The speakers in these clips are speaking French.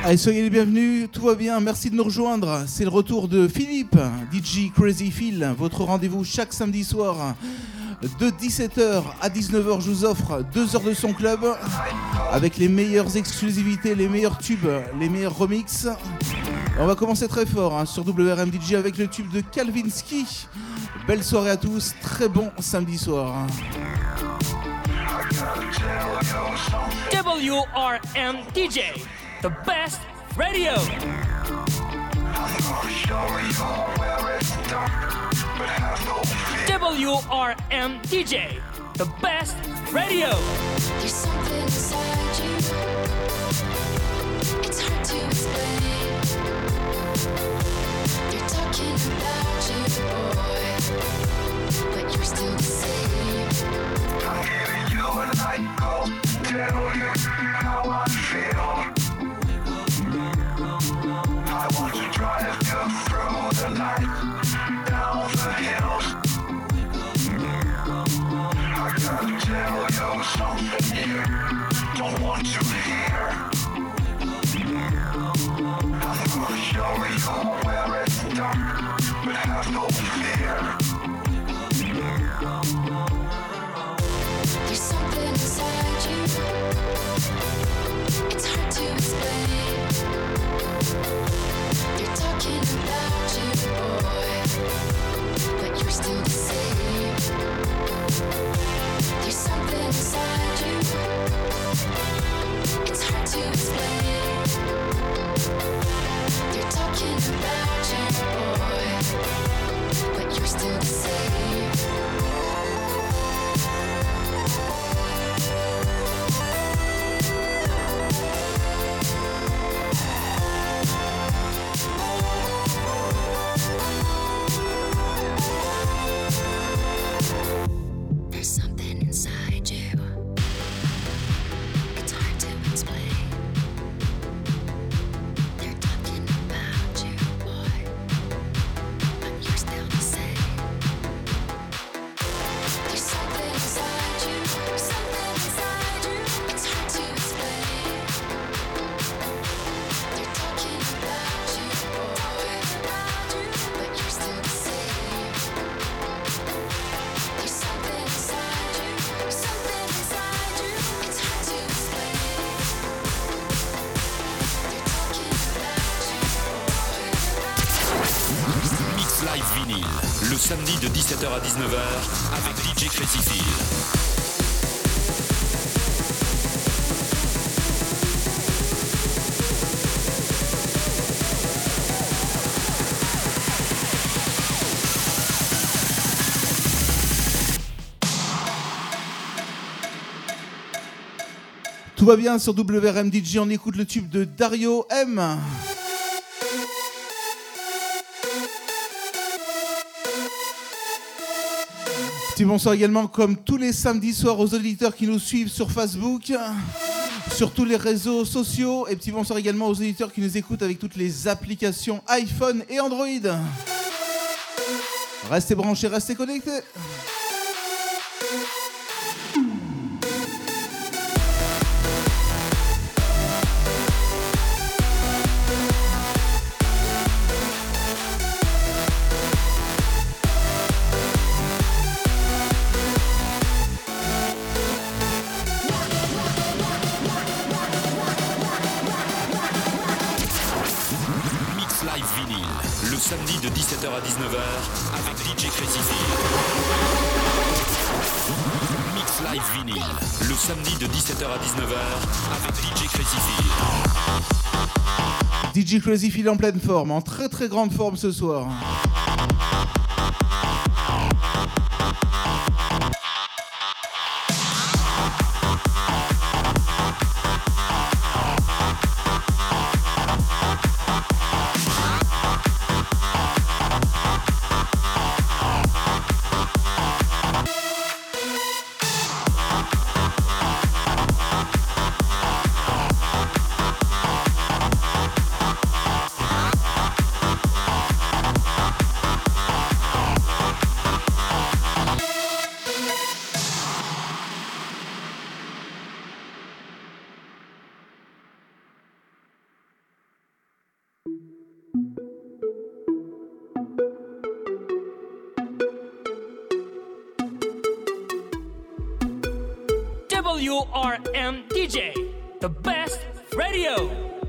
Allez, soyez les bienvenus, tout va bien, merci de nous rejoindre. C'est le retour de Philippe, DJ Crazy Phil, votre rendez-vous chaque samedi soir de 17h à 19h. Je vous offre 2 heures de son club avec les meilleures exclusivités, les meilleurs tubes, les meilleurs remixes. On va commencer très fort sur WRM DJ avec le tube de Kalvinsky. Belle soirée à tous, très bon samedi soir. WRM DJ, the best radio. WRM DJ, the best radio. There's something inside you. It's hard to explain. They're talking about you, boy, but you're still the same. I'm giving you a night call to tell you how I feel. I want to drive you through the night, down the hills. I gotta tell you something you don't want to hear. I'm gonna show you where it's dark, but have no fear. There's something inside you. It's hard to explain. They're talking about you, boy, but you're still the same. There's something inside you. It's hard to explain. They're talking about you, boy, but you're still the same. There's something inside you. It's hard to explain. They're talking about you, boy, but you're still the same. There's something inside you. Something inside you. It's hard to explain. They're talking about you, boy, but you're still the same. There's something inside you. Something inside you. It's hard to explain. They're talking about you, boy. Mix Live Vinyl, le samedi de 17h à 19h avec DJ Crazy Phil. Tout va bien sur WRM DJ, on écoute le tube de Dario M. Petit bonsoir également comme tous les samedis soirs aux auditeurs qui nous suivent sur Facebook, sur tous les réseaux sociaux, et petit bonsoir également aux auditeurs qui nous écoutent avec toutes les applications iPhone et Android. Restez branchés, restez connectés. Mix Live Vinyl, le samedi de 17h à 19h avec DJ Crazy Phil. Mix Live Vinyl, le samedi de 17h à 19h avec DJ Crazy Phil. DJ Crazy Phil en pleine forme, en très très grande forme ce soir. WRM DJ, the best radio.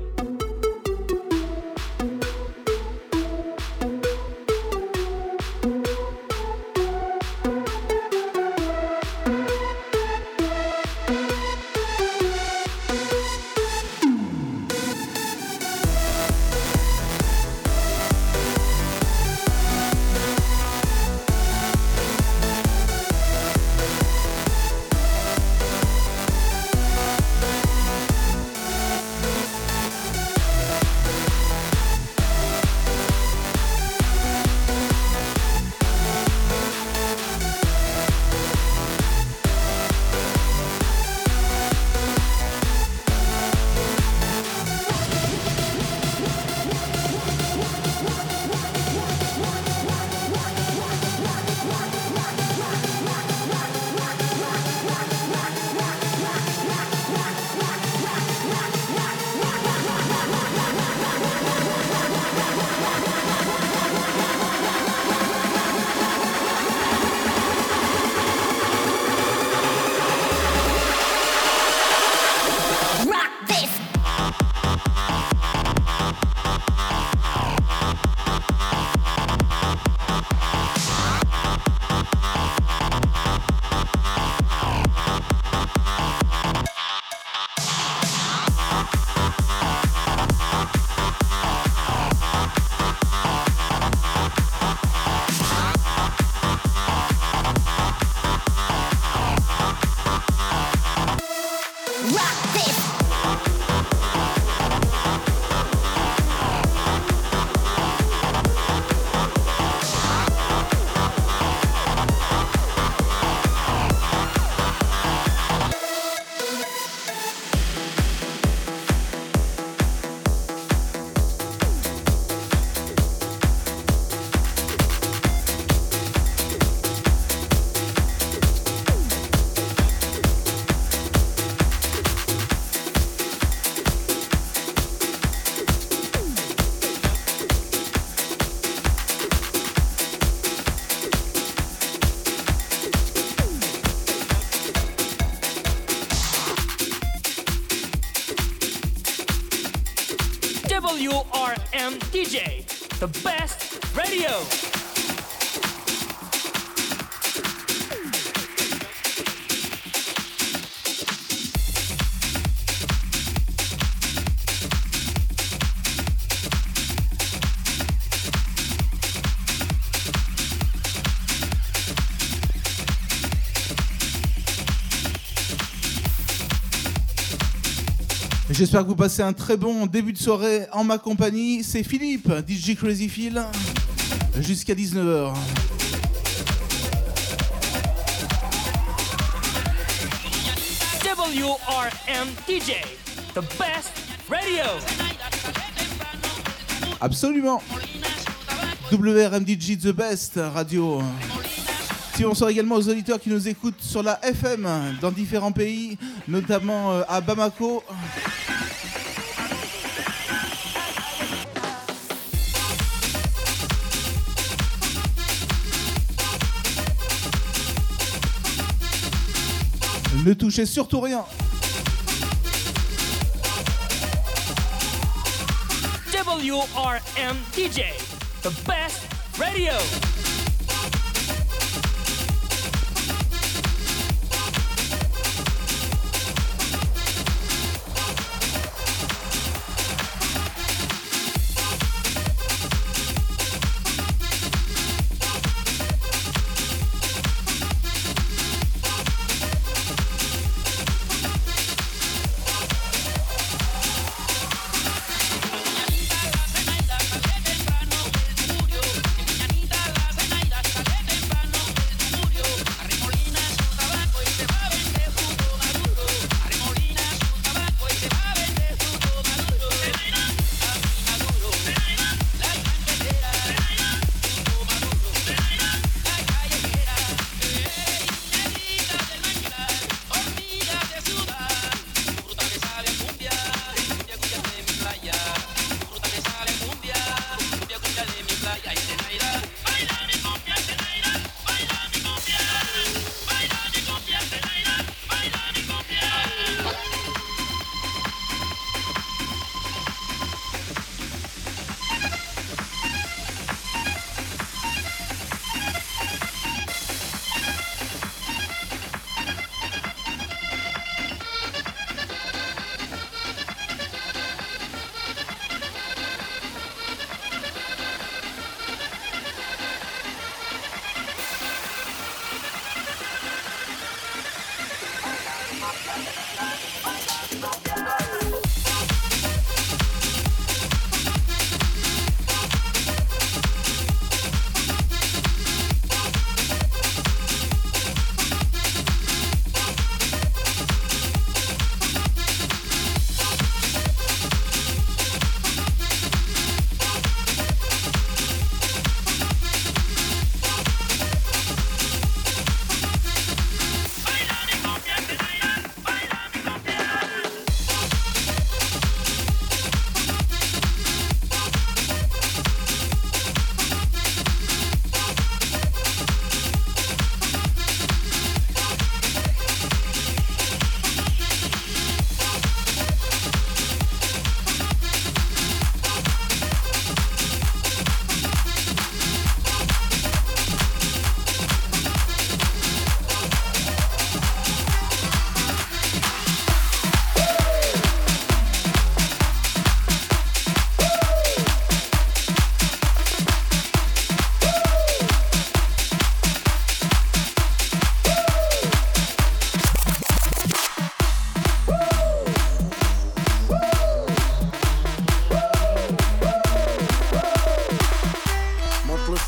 WRM DJ, the best radio. J'espère que vous passez un très bon début de soirée en ma compagnie. C'est Philippe, DJ Crazy Phil, jusqu'à 19h. WRM DJ, the best radio. Absolument. WRM DJ, the best radio. Si bonsoir également aux auditeurs qui nous écoutent sur la FM dans différents pays, notamment à Bamako. Ne touchez surtout rien. WRM DJ, the best radio. Mañanita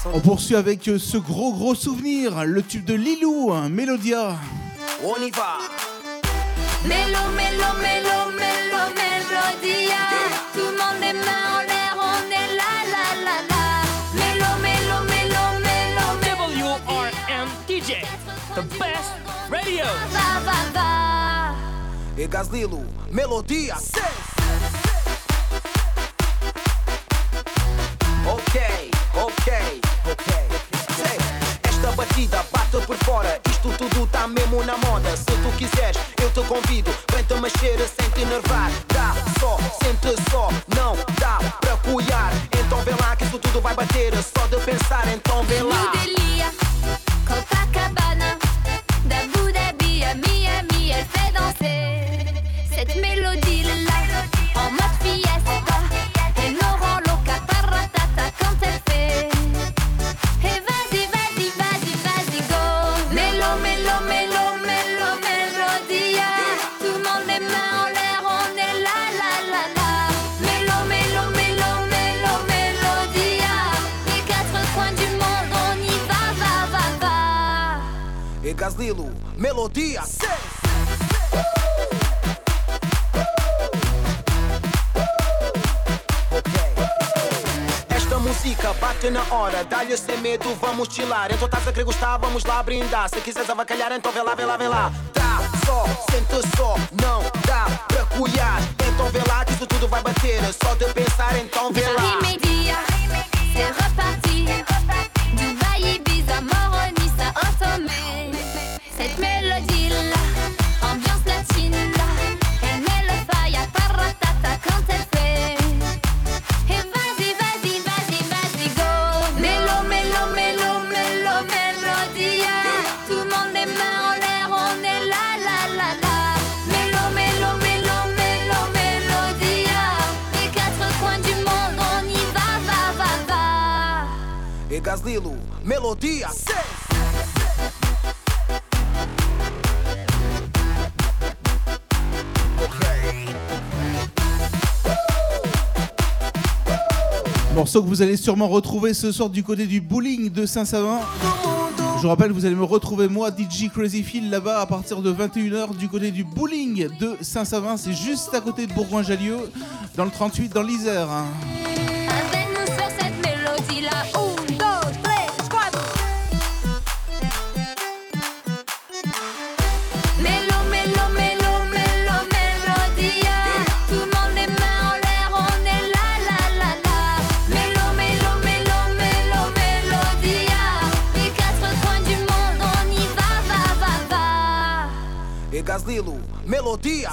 On poursuit avec ce gros souvenir, le tube de Lilou, Mélodia. On y va. Mélo, mélo, mélo, mélo, mélodia. Tout le monde les mains en l'air, on est là, là, là, là. Mélo, mélo, mélo, mélo, WRM DJ, the best radio. va, va, va. E Gaslilo, melodia. Ok. Sei, esta batida bate por fora. Isto tudo tá mesmo na moda. Se tu quiseres, eu te convido. Vem-te mexer sem te enervar. Dá só, sente só. Não dá pra apoiar. Então vê lá que isso tudo vai bater. Só de pensar, então vê lá. New Delhi, Copacabana, d'Abu Dhabi à Miami, elle fait danser cette mélodie-là en mode fiesta. Elle nous rend loca paratata quand elle fait. Et vas-y, vas-y, vas-y, vas-y, go. Mélo, mélo, mélo, mélo, mélodia. Tout le monde les mains en l'air, on est là, là, là, là. Mélo, mélo, mélo, mélo, mélodia. Les quatre coins du monde, on y va, va, va, va. E Gaslilo, melodia. Esta música bate na hora, dá-lhe sem medo, vamos chilar. Então estás a querer gostar, vamos lá brindar. Se quiseres avacalhar, então vê lá, vê lá, vê lá. Dá só, sente só, não dá pra cuidar. Então vê lá que isso tudo vai bater. Só de pensar, então vê lá. Paris Média, c'est reparti. Dubaï, Ibiza, Moroni, ça ensommé. Cette mélodie-là, ambiance latine-là, elle met le fire à paratata quand elle fait. Et vas-y, vas-y, vas-y, vas-y, go. Mélo, mélo, mélo, mélo, mélodia. Tout le monde les mains en l'air, on est là, là, là, là. Mélo, mélo, mélo, mélo, mélodia. Les quatre coins du monde, on y va, va, va, va. E Gaslilo, melodia. Morceau que vous allez sûrement retrouver ce soir du côté du bowling de Saint-Savin. Je vous rappelle, vous allez me retrouver moi, DJ Crazy Phil, là-bas à partir de 21h du côté du bowling de Saint-Savin. C'est juste à côté de Bourgoin-Jallieu, dans le 38, dans l'Isère. Avec-nous sur cette mélodie-là. 1, 2, 3, 4. Mélo, mélo, mélo, mélo, mélodia. Tout le monde les mains en l'air, on est là, là, là, là. Mélo, mélo, mélo, mélo, mélodia. Les quatre coins du monde, on y va, va, va, va. E Gaslilo, melodia.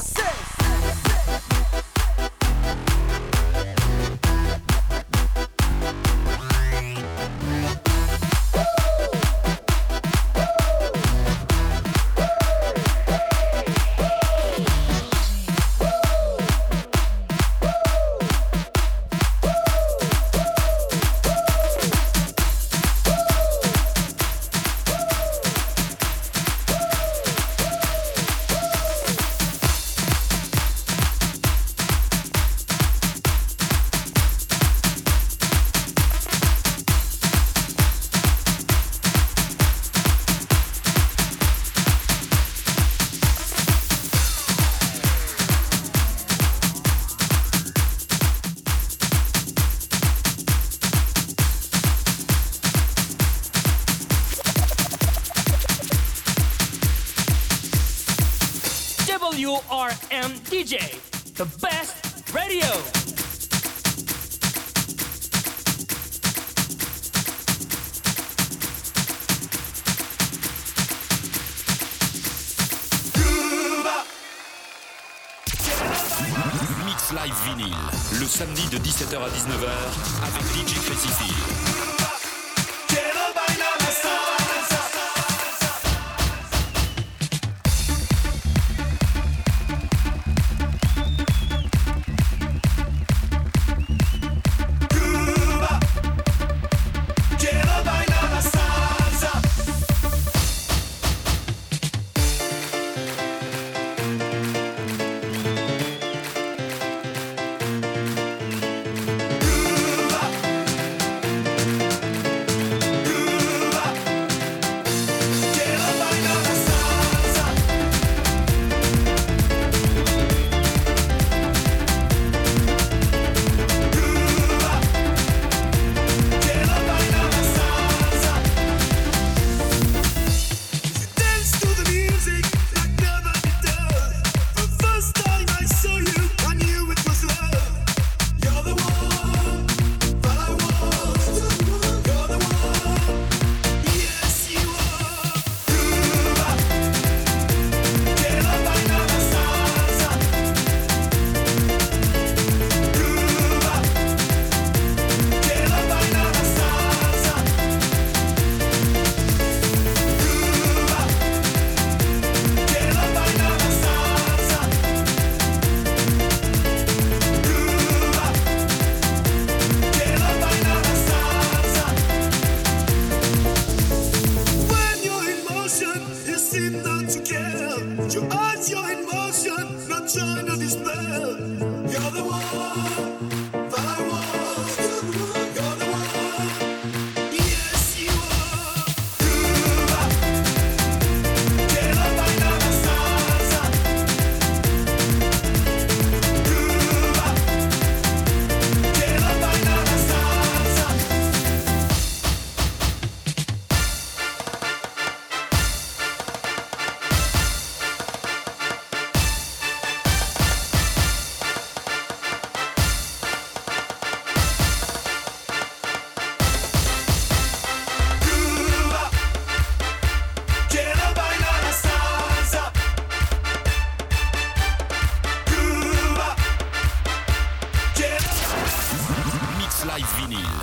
WRM DJ, the best radio. Mix Live Vinyl, le samedi de 17h à 19h avec DJ Crazy Phil.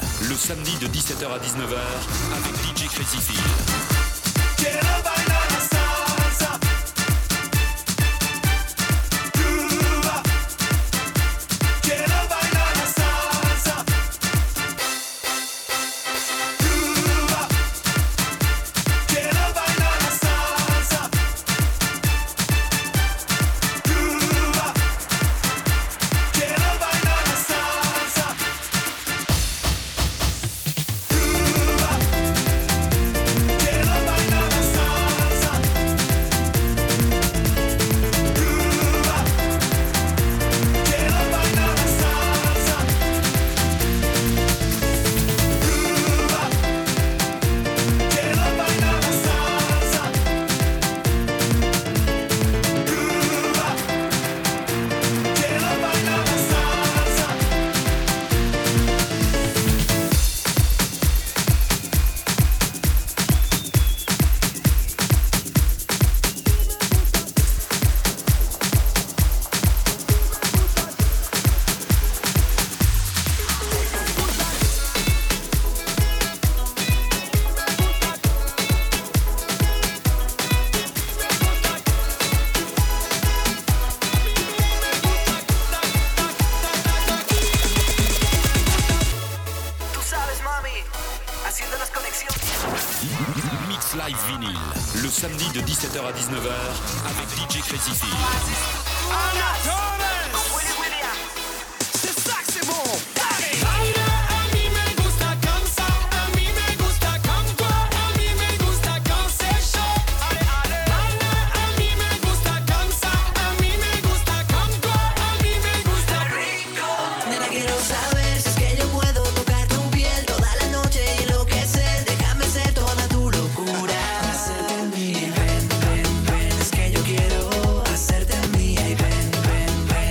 le samedi de 17h à 19h avec DJ Crazy Phil. Mix Live Vinyl, le samedi de 17h à 19h avec DJ Crazy Phil. C'est ça que c'est bon. Hacerte mía y ven, ven, ven.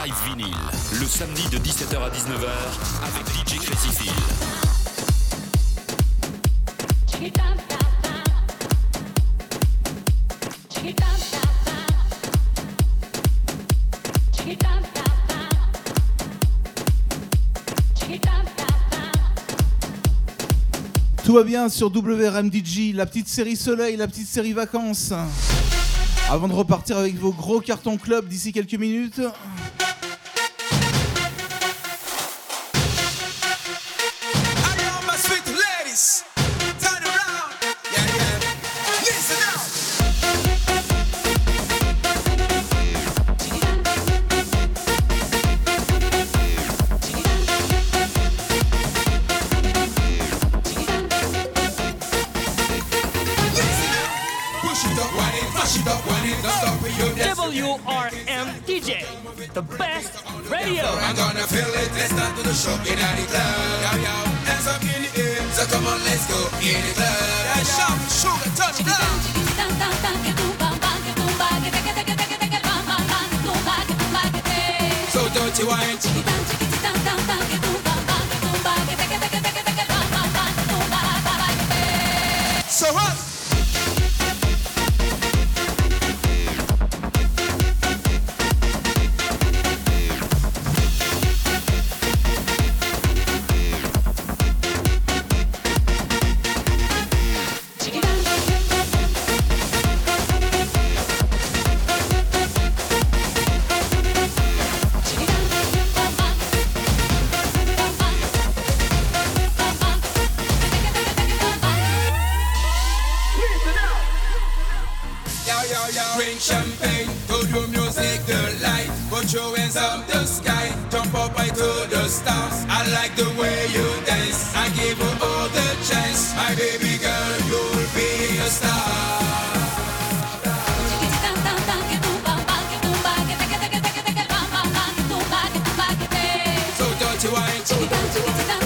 Live Vinyl, le samedi de 17h à 19h avec DJ Crazy Phil. Tout va bien sur WRMDJ, la petite série Soleil, la petite série Vacances. Avant de repartir avec vos gros cartons club d'ici quelques minutes. All my sweet ladies, turn around, yeah, yeah, listen up. Push it up, wind it, push it up, wind it, don't stop with your dance. WRMDJ, the best radio. I'm gonna feel it, let's start to the show. In the club, yo, yo, hands up in the air. So come on, let's go in the club. Yeah, shout, sugar, touch it down. So dirty wine. So hot. Drink champagne, to the music, the light. Put your hands up the sky, jump up high to the stars. I like the way you dance, I give you all the chance. My baby girl, you'll be a star. So dirty wine.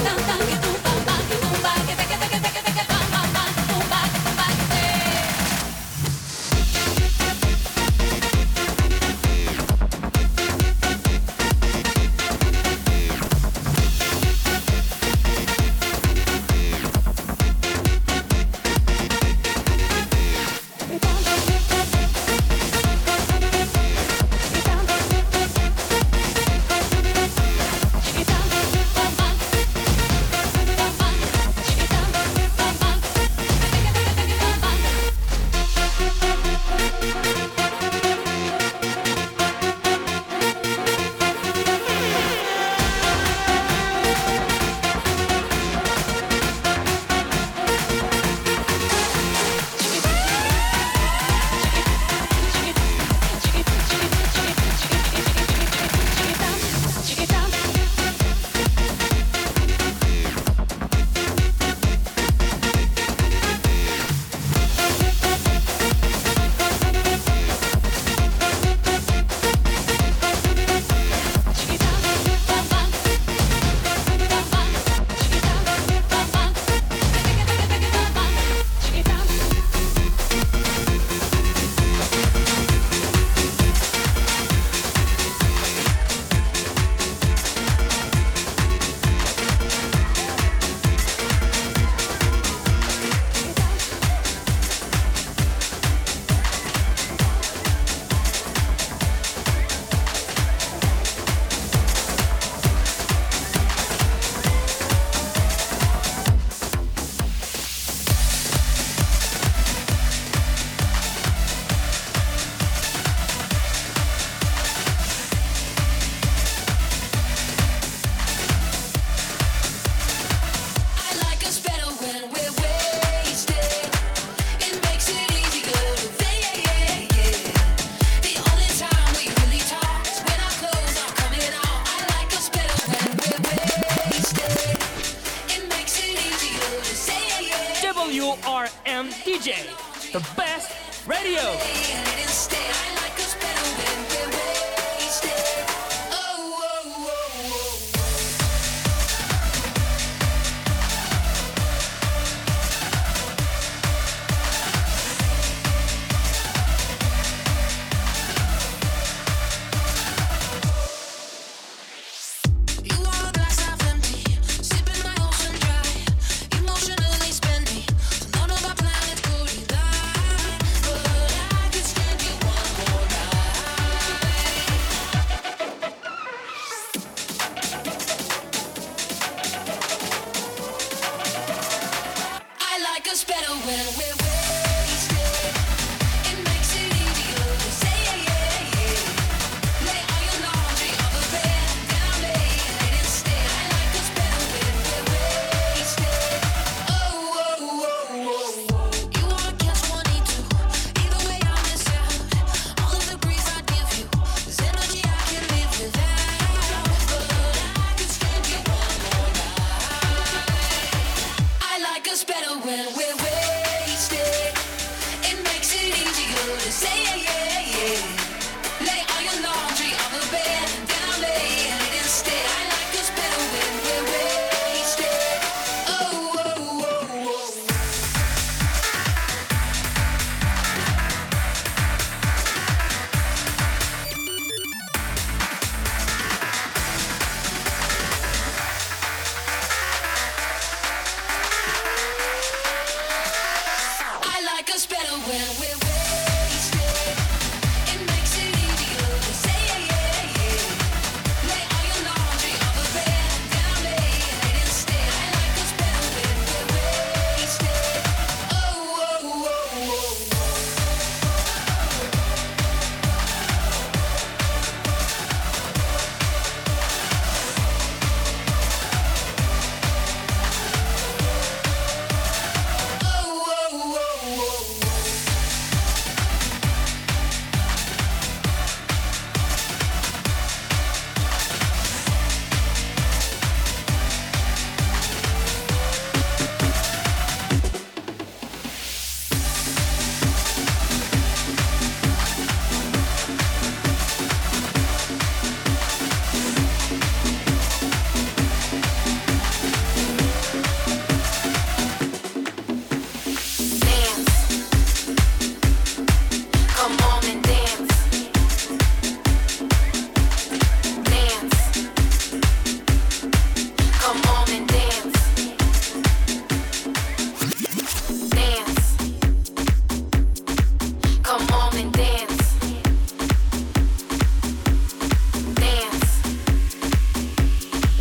WRMDJ, the best radio.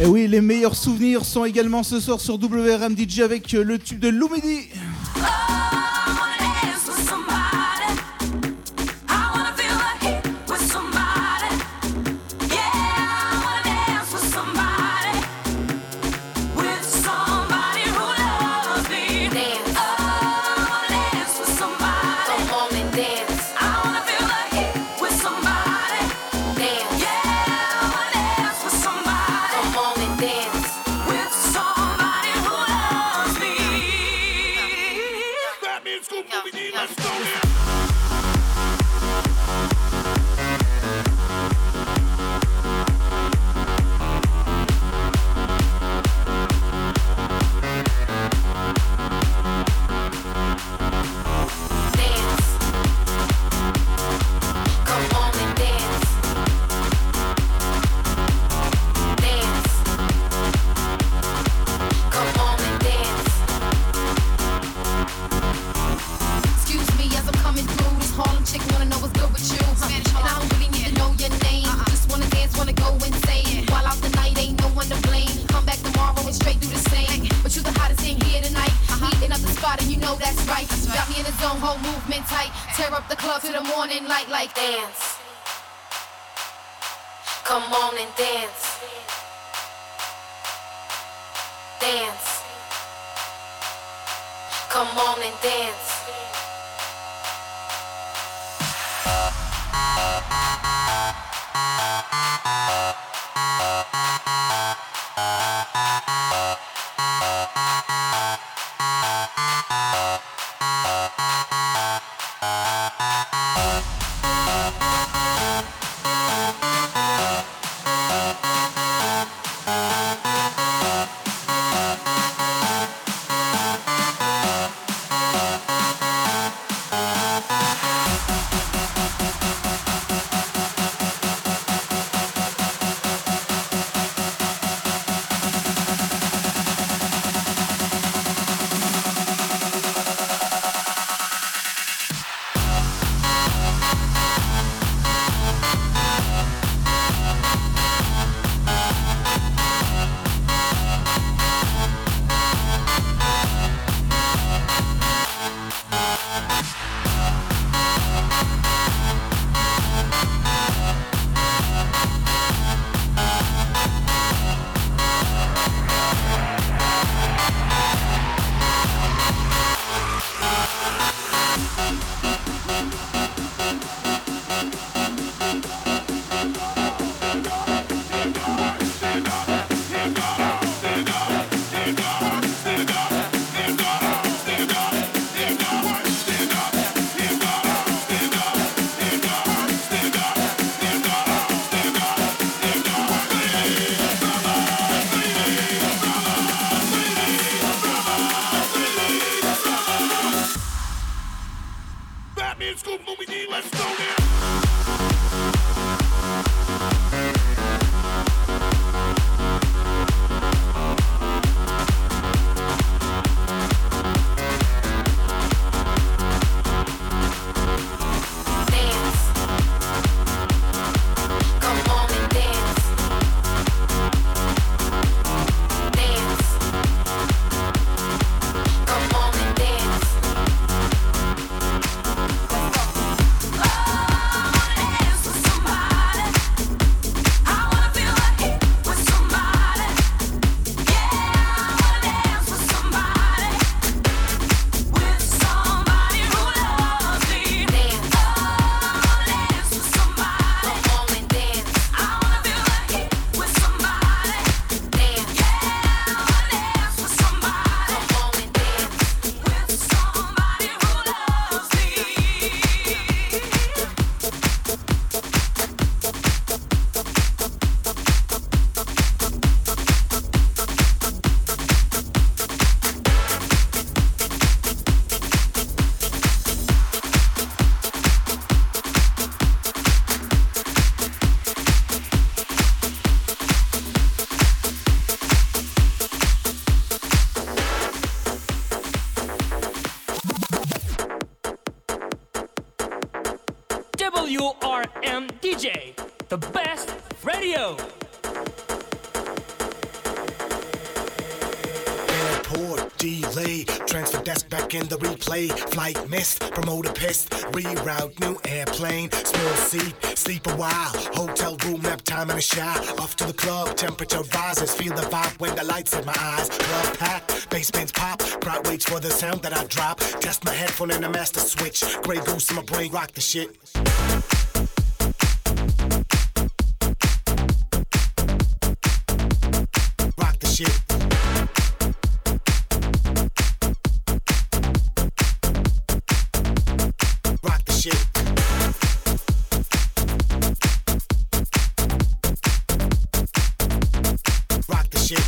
Et oui, les meilleurs souvenirs sont également ce soir sur WRM DJ avec le tube de Lumidi. WRM DJ, the best radio. delay. Transfer desk back in the replay. Flight missed, promoter pissed. Reroute, new airplane. Small seat, sleep a while. Hotel room, nap time and a shower. Off to the club, temperature rises. Feel the vibe when the lights in my eyes. Club packed, bass bands pop. Crowd waits for the sound that I drop. Test my headphone and a master switch. Grey goose in my brain, rock the shit. Rock the shit. Rock the shit. Rock the shit.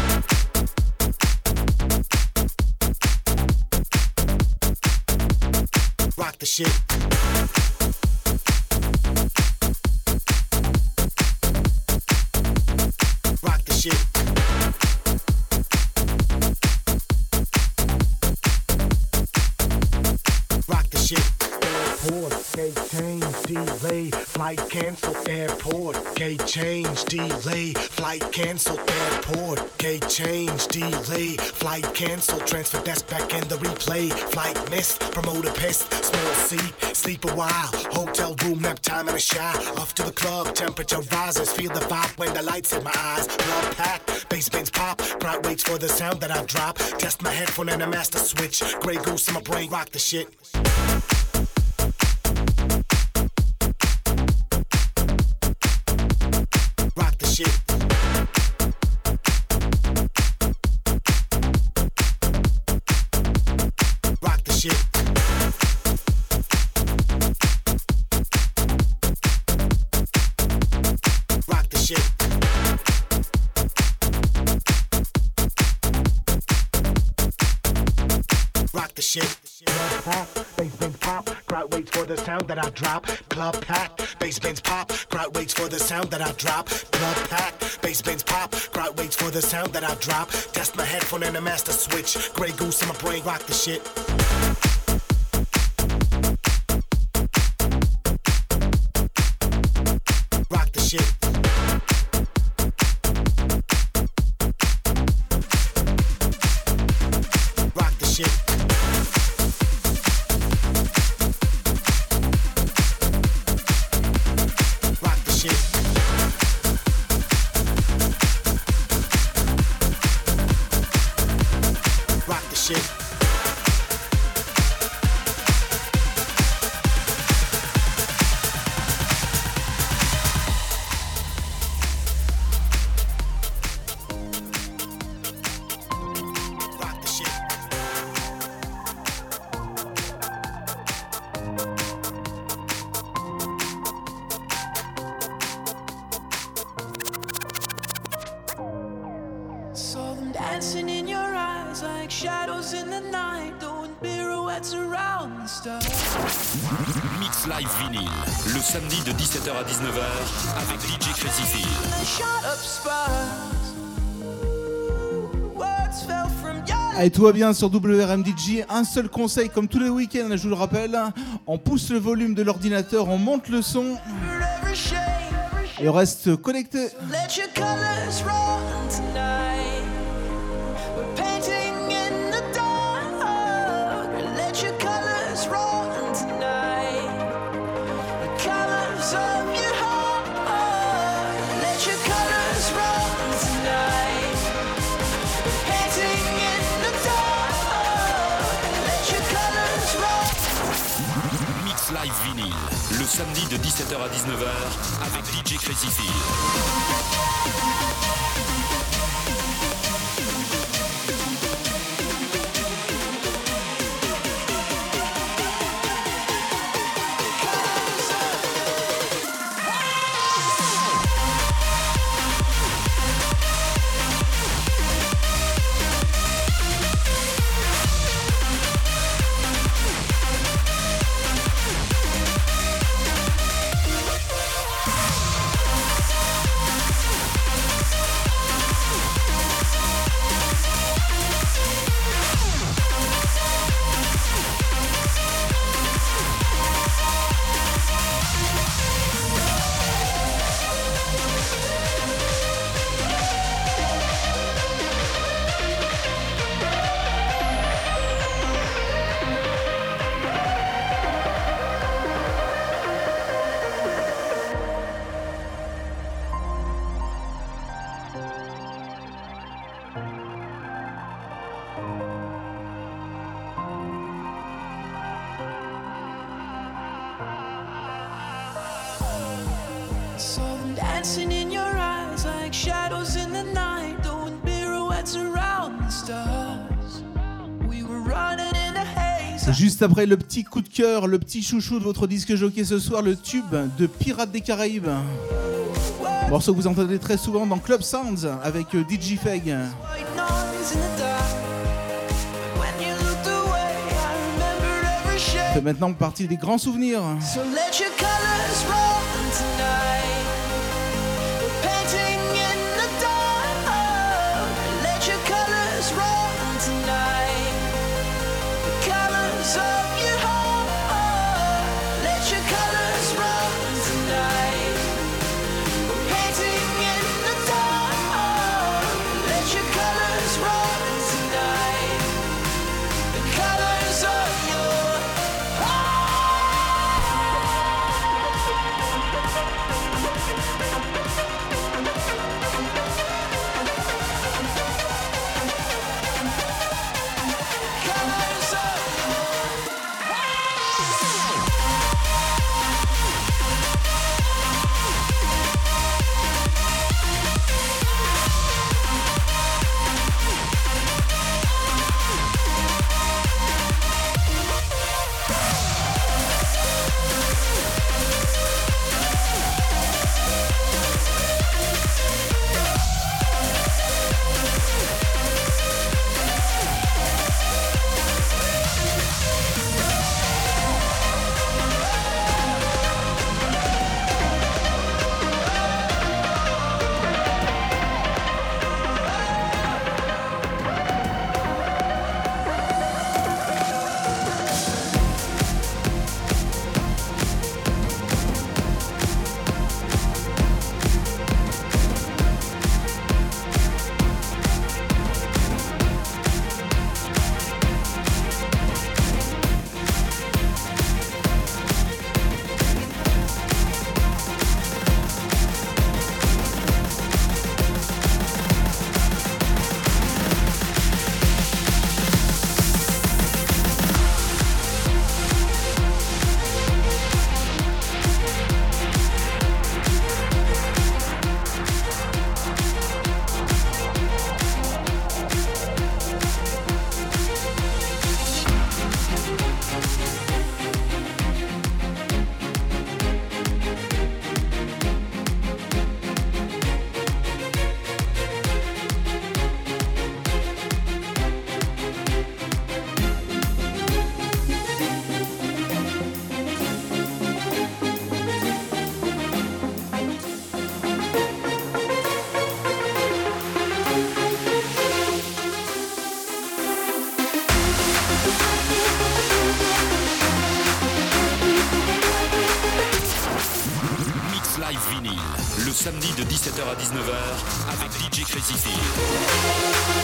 Rock the shit. Rock the shit. Rock the shit. Airport, gate change, delay, flight cancel. Airport, gate change, delay, flight cancel. Airport, gate change, delay, flight cancel. Transfer desk back in the replay. Flight missed, promoter pissed. Small seat, sleep a while. Hotel room, nap time and a shower. Off to the club, temperature rises. Feel the vibe when the lights in my eyes. Club packed, bass bands pop. Crowd waits for the sound that I drop. Test my headphone and a master switch. Grey goose in my brain, rock the shit. Rock the shit. Rock the shit. Rock the shit. Rock the shit. Club packed, bass bands pop. Crowd waits for the sound that I drop. Club packed, bass bands pop. Crowd waits for the sound that I drop. Club packed, bass bands pop. Crowd waits for the sound that I drop. Test my headphone and a master switch. Grey goose in my brain, rock the shit. Rock the shit. Rock the shit. Rock the shit. Rock the shit. Rock the shit. Saw them dancing in your eyes like shadows in the night, doing pirouettes around the stars. Mix Live Vinyl, le samedi de 17h à 19h avec DJ Crazy Phil. They shot up sparks. Words fell from your Allez, tout va bien sur WRMDJ. Un seul conseil, comme tous les week-ends, je vous le rappelle, on pousse le volume de l'ordinateur, on monte le son every shade. et on reste connecté. Let your colors run tonight. We're painting in the dark. Let your colors run tonight. The colors of your heart. Let your colors run tonight. We're painting in the dark. Let your colors run. Mix Live Vinyl, le samedi de 17h à 19h avec DJ Crazy Phil. Dancing in your eyes like shadows in the night, doing pirouettes around the stars. We were running in the haze. Juste après le petit coup de cœur, le petit chouchou de votre disque jockey ce soir, le tube de Pirates des Caraïbes. Morceau que vous entendez très souvent dans Club Sounds avec DJ Feg. White noise in the dark. When you looked away, I remembered every shade. C'est maintenant partie des grands souvenirs. So let your colors run tonight. We're painting in the dark. Let your colors run tonight. The colors of your heart. Let your colors run tonight. We're painting in the dark. Let your colors run tonight. The colors of your colors of Live Vinyl, le samedi de 17h à 19h avec DJ Crazy Phil.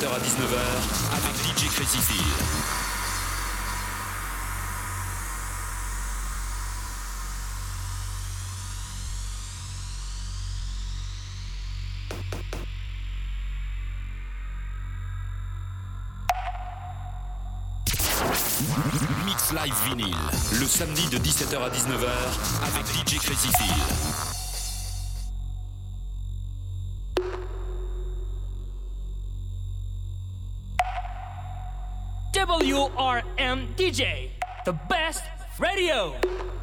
17h à 19h avec DJ Crazy Phil. Mix Live Vinyl, le samedi de 17h à 19h avec DJ Crazy Phil. WRM DJ, the best radio.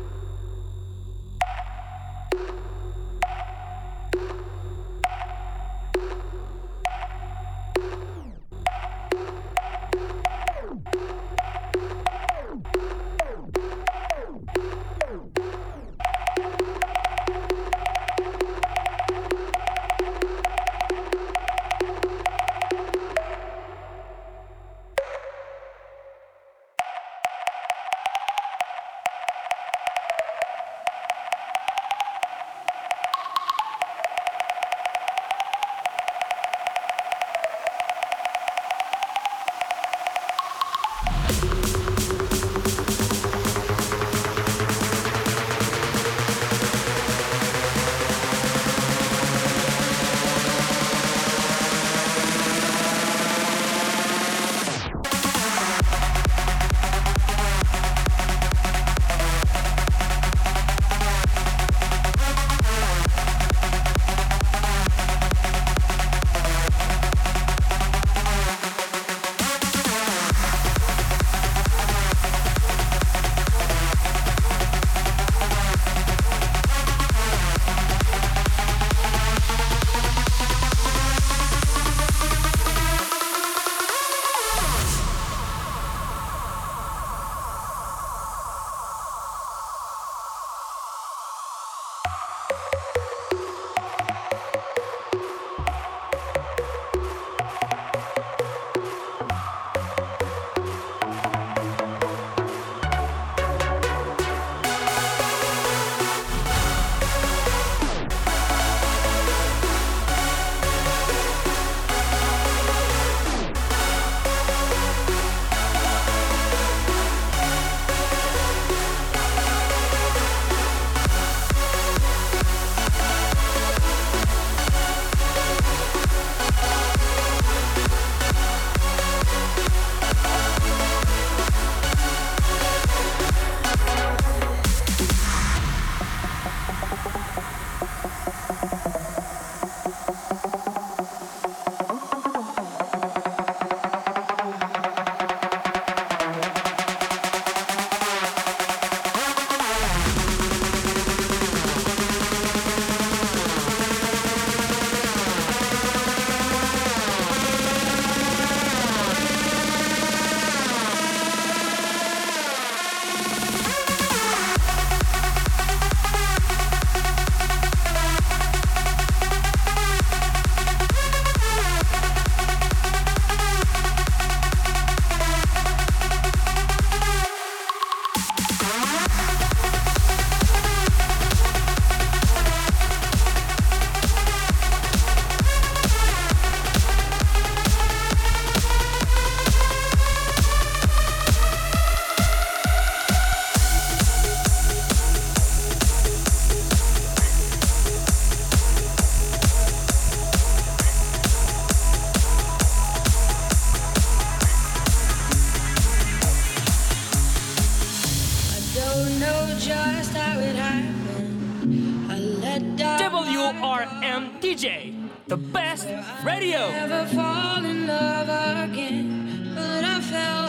WRM DJ, the best radio. Never fall in love again, but I fell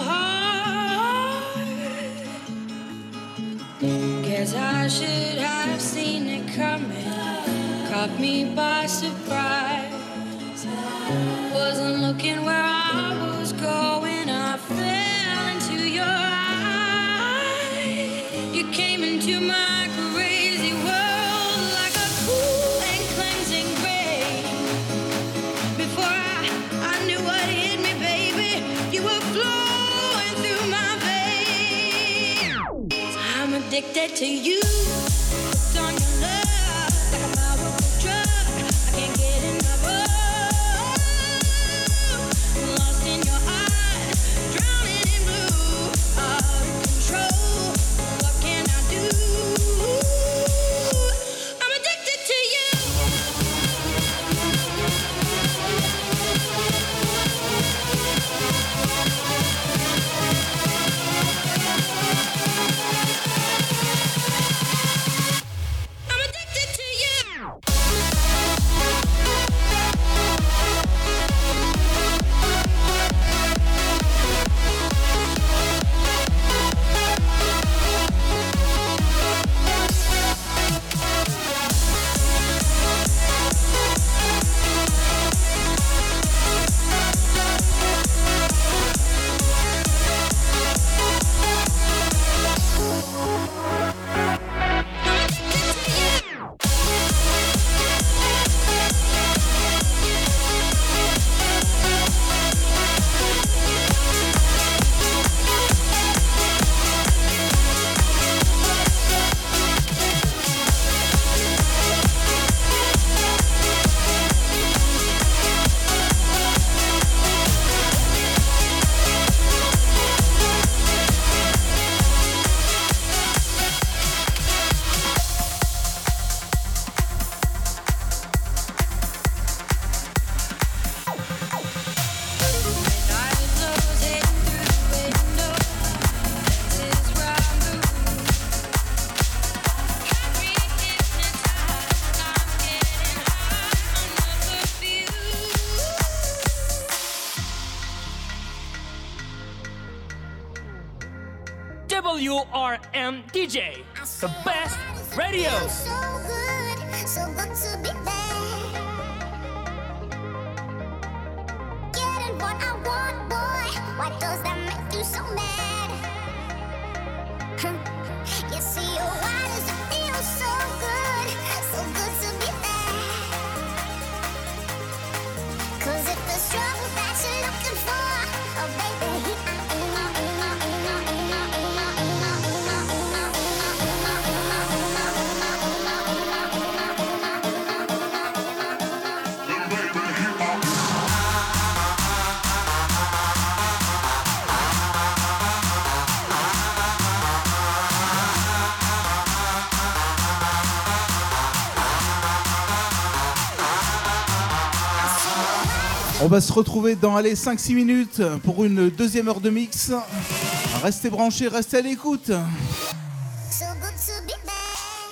hard. Guess I should have seen it coming, caught me by surprise. Wasn't looking where I was going, I fell into your eyes. You came into my crazy world like a cool and cleansing rain. Before I knew what hit me, baby, you were flowing through my veins. I'm addicted to you, hooked on your love, like a powerful drug. I can't get enough of. WRM DJ, the best radio. So good to be there. Getting what I want, boy. Why does that make you so mad? You see, why does it feel so good to be there? 'Cause if the struggle that you're looking for, oh baby, On va se retrouver dans 5-6 minutes pour une deuxième heure de mix. Restez branchés, restez à l'écoute. so good to be there.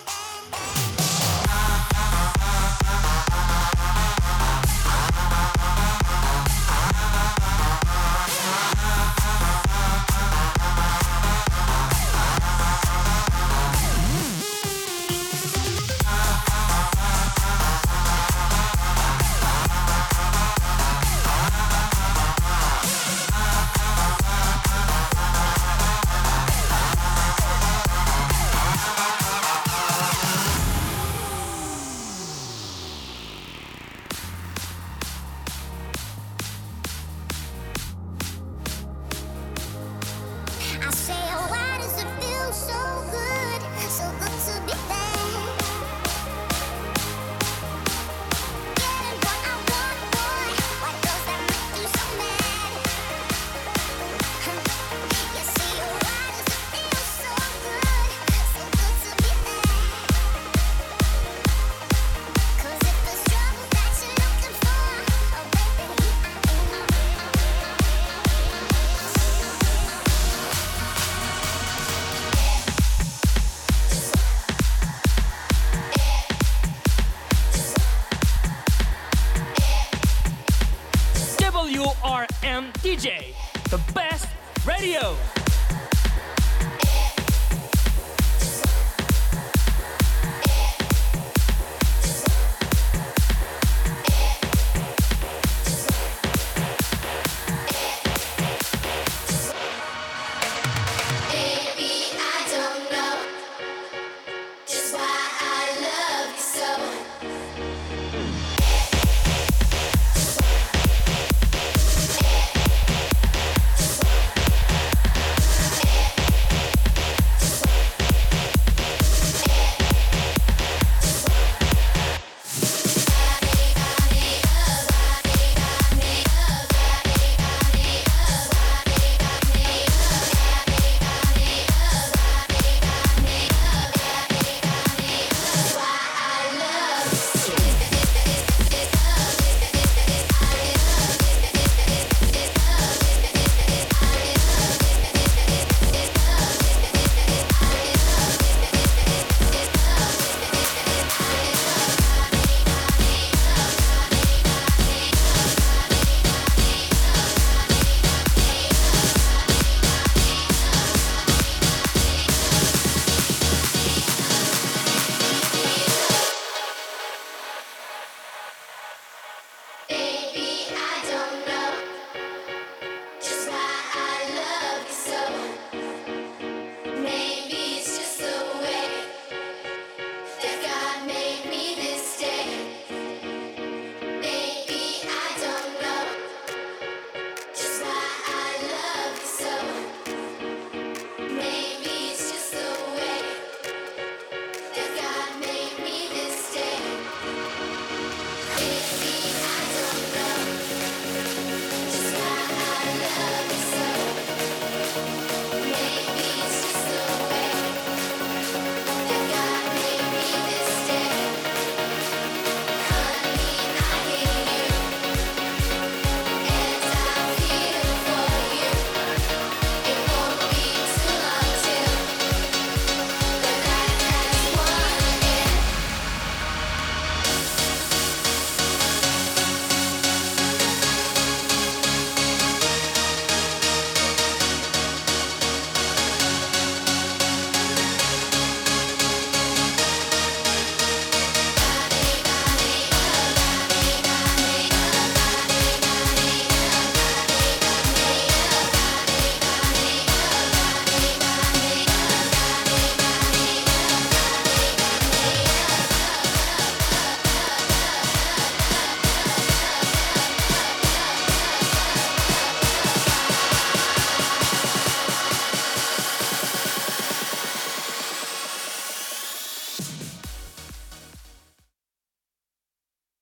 I say, oh, why does it feel so good to be there? Getting what I want, boy. Why does that make you so mad? You see, why does it feel so good to be there? 'Cause if the struggle that you're looking for, oh baby, WRM DJ, the best radio.